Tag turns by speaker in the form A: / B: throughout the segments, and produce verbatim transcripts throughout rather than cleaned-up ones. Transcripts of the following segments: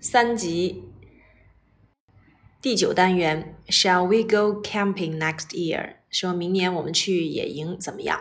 A: 三级第九单元 Shall we go camping next year? 说明年我们去野营怎么样？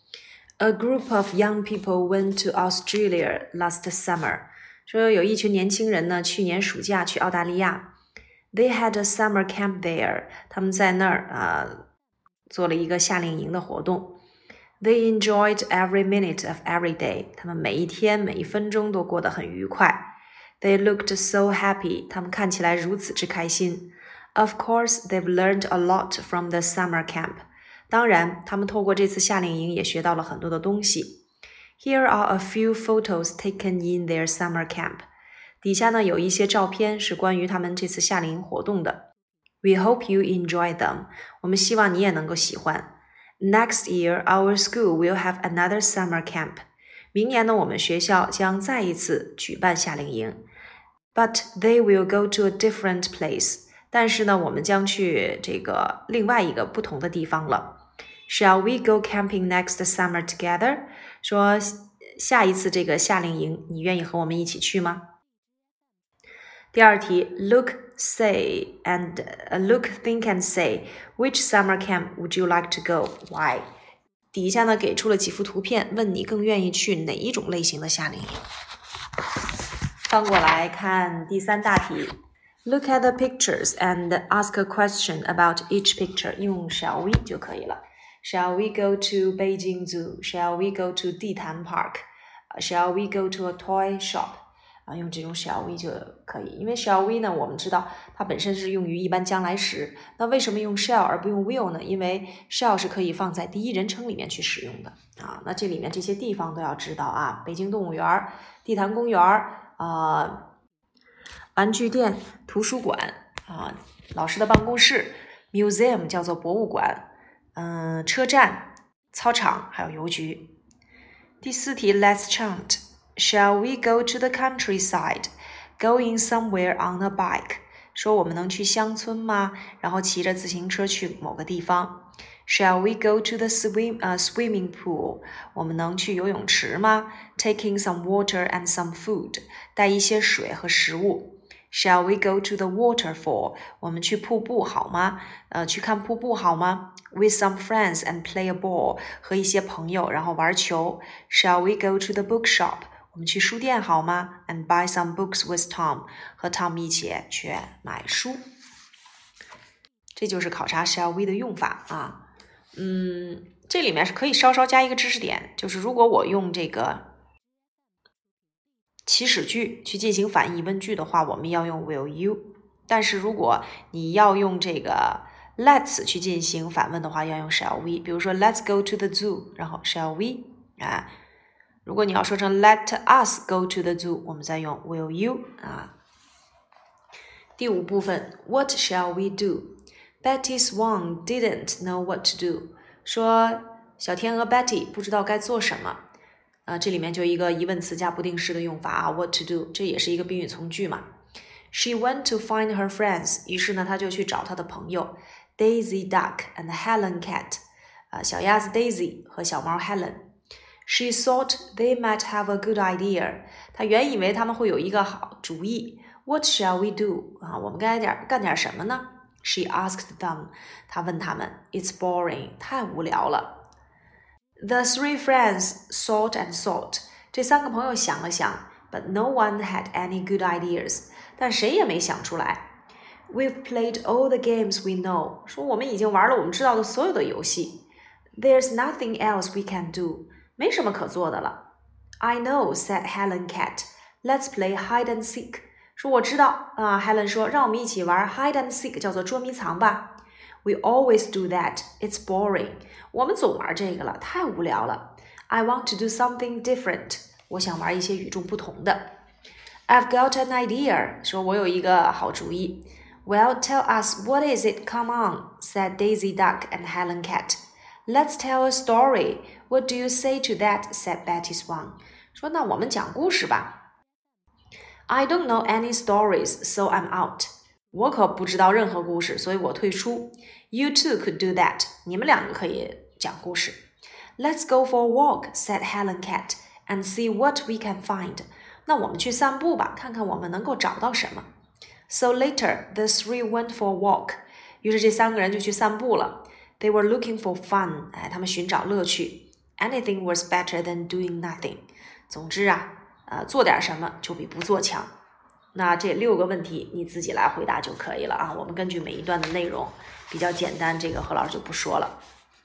A: A group of young people went to Australia last summer. 说有一群年轻人呢，去年暑假去澳大利亚。They had a summer camp there. 他们在那儿啊、呃、做了一个夏令营的活动。They enjoyed every minute of every day. 他们每一天每一分钟都过得很愉快。They looked so happy. 他们看起来如此之开心。Of course, they've learned a lot from the summer camp. 当然，他们透过这次夏令营也学到了很多的东西。Here are a few photos taken in their summer camp. 底下呢有一些照片是关于他们这次夏令营活动的。We hope you enjoy them. 我们希望你也能够喜欢。Next year, our school will have another summer camp. 明年呢，我们学校将再一次举办夏令营。But they will go to a different place. 但是呢，我们将去这个另外一个不同的地方了。Shall we go camping next summer together? 说下一次这个夏令营，你愿意和我们一起去吗？第二题 Look, say, and uh, look, think and say, which summer camp would you like to go? Why? 底下呢给出了几幅图片，问你更愿意去哪一种类型的夏令营。翻过来看第三大题 Look at the pictures and ask a question about each picture. 用 shall we 就可以了。Shall we go to Beijing Zoo? Shall we go to 地坛 Park? Shall we go to a toy shop? 啊，用这种 shall we 就可以。因为 shall we 呢，我们知道它本身是用于一般将来时。那为什么用 shall 而不用 will 呢？因为 shall 是可以放在第一人称里面去使用的啊。那这里面这些地方都要知道啊，北京动物园、地坛公园啊、玩具店、图书馆啊、老师的办公室 museum 叫做博物馆，嗯、呃，车站、操场还有邮局。第四题 Let's chant. Shall we go to the countryside? Going somewhere on a bike. 说我们能去乡村吗？然后骑着自行车去某个地方。Shall we go to the swim, uh, swimming pool? 我们能去游泳池吗？ Taking some water and some food. 带一些水和食物。Shall we go to the waterfall? 我们去瀑布好吗？呃，去看瀑布好吗？ With some friends and play a ball. 和一些朋友然后玩球。Shall we go to the bookshop? 我们去书店好吗？ And buy some books with Tom. 和 Tom 一起去买书。这就是考察 shall we 的用法啊。嗯，这里面是可以稍稍加一个知识点，就是如果我用这个祈使句去进行反义疑问句的话，我们要用 will you。但是如果你要用这个 let's 去进行反问的话，要用 shall we。比如说 let's go to the zoo， 然后 shall we 啊。如果你要说成 let us go to the zoo， 我们再用 will you 啊。第五部分 What shall we do? Betty Swan didn't know what to do. 说小天鹅 Betty 不知道该做什么。呃，这里面就一个疑问词加不定式的用法啊 ，what to do， 这也是一个宾语从句嘛。She went to find her friends， 于是呢，她就去找她的朋友 Daisy Duck and Helen Cat， 呃，小鸭子 Daisy 和小猫 Helen。She thought they might have a good idea， 她原以为他们会有一个好主意。What shall we do？ 啊，我们该点干点什么呢 ？She asked them， 她问他们 ，It's boring， 太无聊了。The three friends thought and thought. 这三个朋友想了想 but no one had any good ideas. 但谁也没想出来。We've played all the games we know. 说我们已经玩了我们知道的所有的游戏。There's nothing else we can do. 没什么可做的了。I know, said Helen Cat. Let's play hide and seek. 说我知道啊 Helen 说让我们一起玩 hide and seek 叫做捉迷藏吧。We always do that. It's boring. 我们总玩这个了，太无聊了。I want to do something different. 我想玩一些与众不同的。I've got an idea. 说我有一个好主意。Well, tell us what is it? Come on, said Daisy Duck and Helen Cat. Let's tell a story. What do you say to that? said Betty Swan. 说那我们讲故事吧。I don't know any stories, so I'm out. 我可不知道任何故事，所以我退出。You two could do that. 你们两个可以讲故事。Let's go for a walk, said Helen Cat, and see what we can find. 那我们去散步吧，看看我们能够找到什么。So later, the three went for a walk. 于是这三个人就去散步了。They were looking for fun. 哎，他们寻找乐趣。Anything was better than doing nothing. 总之啊，呃，做点什么就比不做强。那这六个问题你自己来回答就可以了啊。我们根据每一段的内容比较简单，这个何老师就不说了。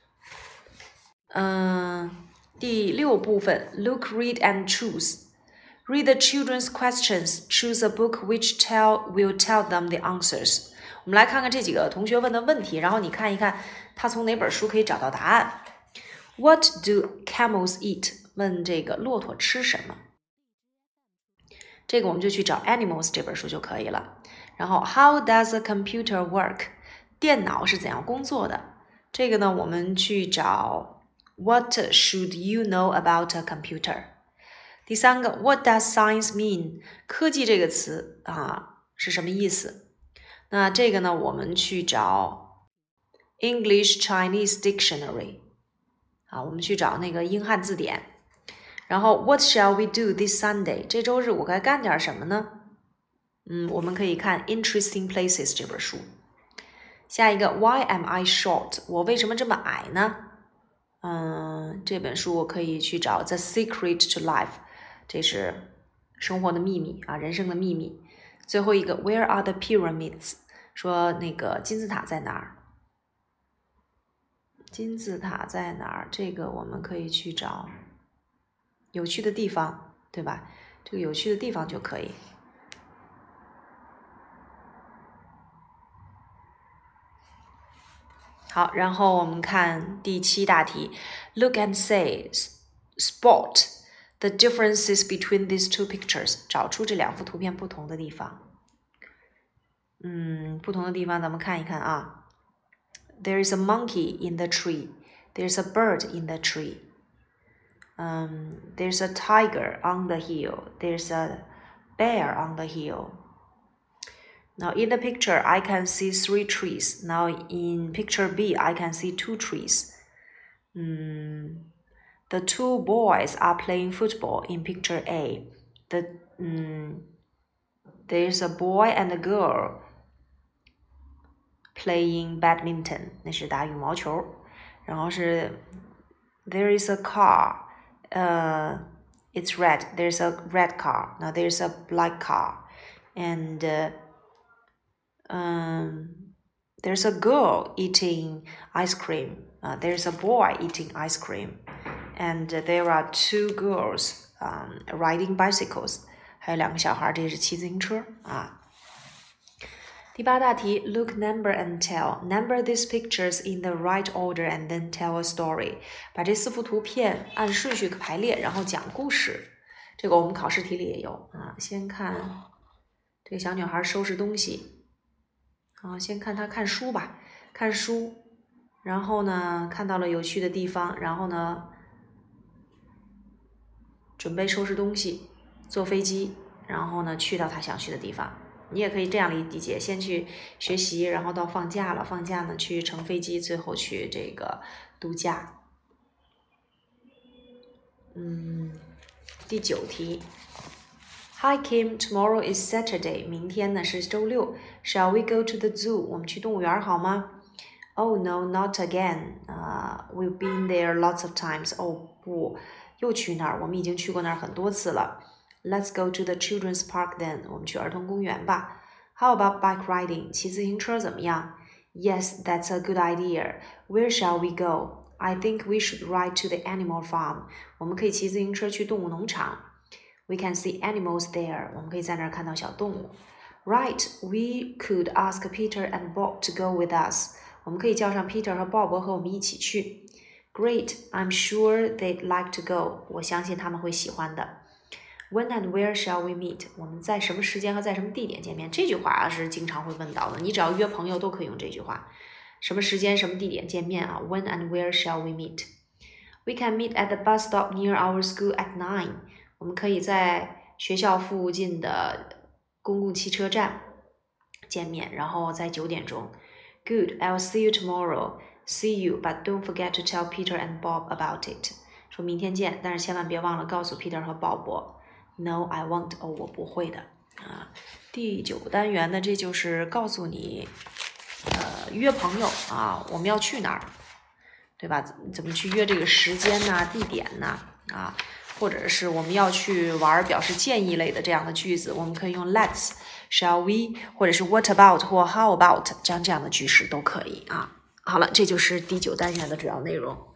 A: 嗯，第六部分 Look, read and choose.Read the children's questions. Choose a book which tell will tell them the answers. 我们来看看这几个同学问的问题，然后你看一看他从哪本书可以找到答案。What do camels eat? 问这个骆驼吃什么？这个我们就去找 Animals 这本书就可以了。然后 How does a computer work? 电脑是怎样工作的？这个呢，我们去找 What should you know about a computer?第三个 What does science mean? 科技这个词啊是什么意思？那这个呢我们去找 English Chinese Dictionary 啊，我们去找那个英汉字典。然后 What shall we do this Sunday? 这周日我该干点什么呢？嗯，我们可以看 Interesting Places 这本书。下一个 Why am I short? 我为什么这么矮呢？嗯，这本书我可以去找 The Secret to Life。这是生活的秘密啊，人生的秘密。最后一个 Where are the pyramids? 说那个金字塔在哪儿？金字塔在哪儿？这个我们可以去找有趣的地方，对吧？这个有趣的地方就可以。好，然后我们看第七大题 Look and say spot.The differences between these two pictures. 找出这两幅图片不同的地方。嗯，不同的地方咱们看一看啊。There is a monkey in the tree. There's a bird in the tree. Um, there's a tiger on the hill. There's a bear on the hill. Now in the picture, I can see three trees. Now in picture B, I can see two trees. Um,The two boys are playing football in picture A. The, um, there's a boy and a girl playing badminton. 那是打羽毛球。然后是 There is a car. Uh, it's red. There's a red car. Now there's a black car. And uh, um, there's a girl eating ice cream. Uh, there's a boy eating ice cream.And there are two girls um, riding bicycles. 还有两个小孩，这是骑自行车啊。第八大题 Look, number and tell. Number these pictures in the right order and then tell a story. 把这四幅图片按顺序排列，然后讲故事。这个我们考试题里也有啊。先看这个小女孩收拾东西。啊，先看她看书吧，看书。然后呢，看到了有趣的地方，然后呢准备收拾东西，坐飞机，然后呢去到他想去的地方。你也可以这样理解，先去学习，然后到放假了，放假呢去乘飞机，最后去这个度假。嗯，第九题 Hi Kim, tomorrow is Saturday. 明天呢是周六。Shall we go to the zoo? 我们去动物园好吗？Oh no, not again. Uh, we've been there lots of times. 哦不，又去那儿，我们已经去过那儿很多次了。Let's go to the children's park then. 我们去儿童公园吧。How about bike riding? 骑自行车怎么样？ Yes, that's a good idea. Where shall we go? I think we should ride to the animal farm. 我们可以骑自行车去动物农场。We can see animals there. 我们可以在那儿看到小动物。Right, we could ask Peter and Bob to go with us. 我们可以叫上 Peter 和 Bob 和我们一起去。Great, I'm sure they'd like to go. 我相信他们会喜欢的。When and where shall we meet? 我们在什么时间和在什么地点见面？这句话是经常会问到的，你只要约朋友都可以用这句话。什么时间、什么地点见面啊 ？When and where shall we meet? We can meet at the bus stop near our school at nine. 我们可以在学校附近的公共汽车站见面，然后在九点钟。Good, I'll see you tomorrow. See you, but don't forget to tell Peter and Bob about it. 说明天见，但是千万别忘了告诉 Peter 和鲍勃。 No, I won't. 哦，我不会的啊。第九单元呢，这就是告诉你，呃，约朋友啊，我们要去哪儿，对吧？怎么去约这个时间呐、地点呐啊？或者是我们要去玩表示建议类的这样的句子，我们可以用 Let's、Shall we， 或者是 What about 或 How about 这样这样的句式都可以啊。好了，这就是第九单元的主要内容。